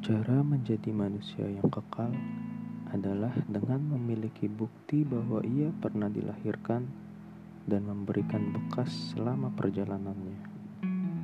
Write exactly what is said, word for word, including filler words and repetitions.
Cara menjadi manusia yang kekal adalah dengan memiliki bukti bahwa ia pernah dilahirkan dan memberikan bekas selama perjalanannya.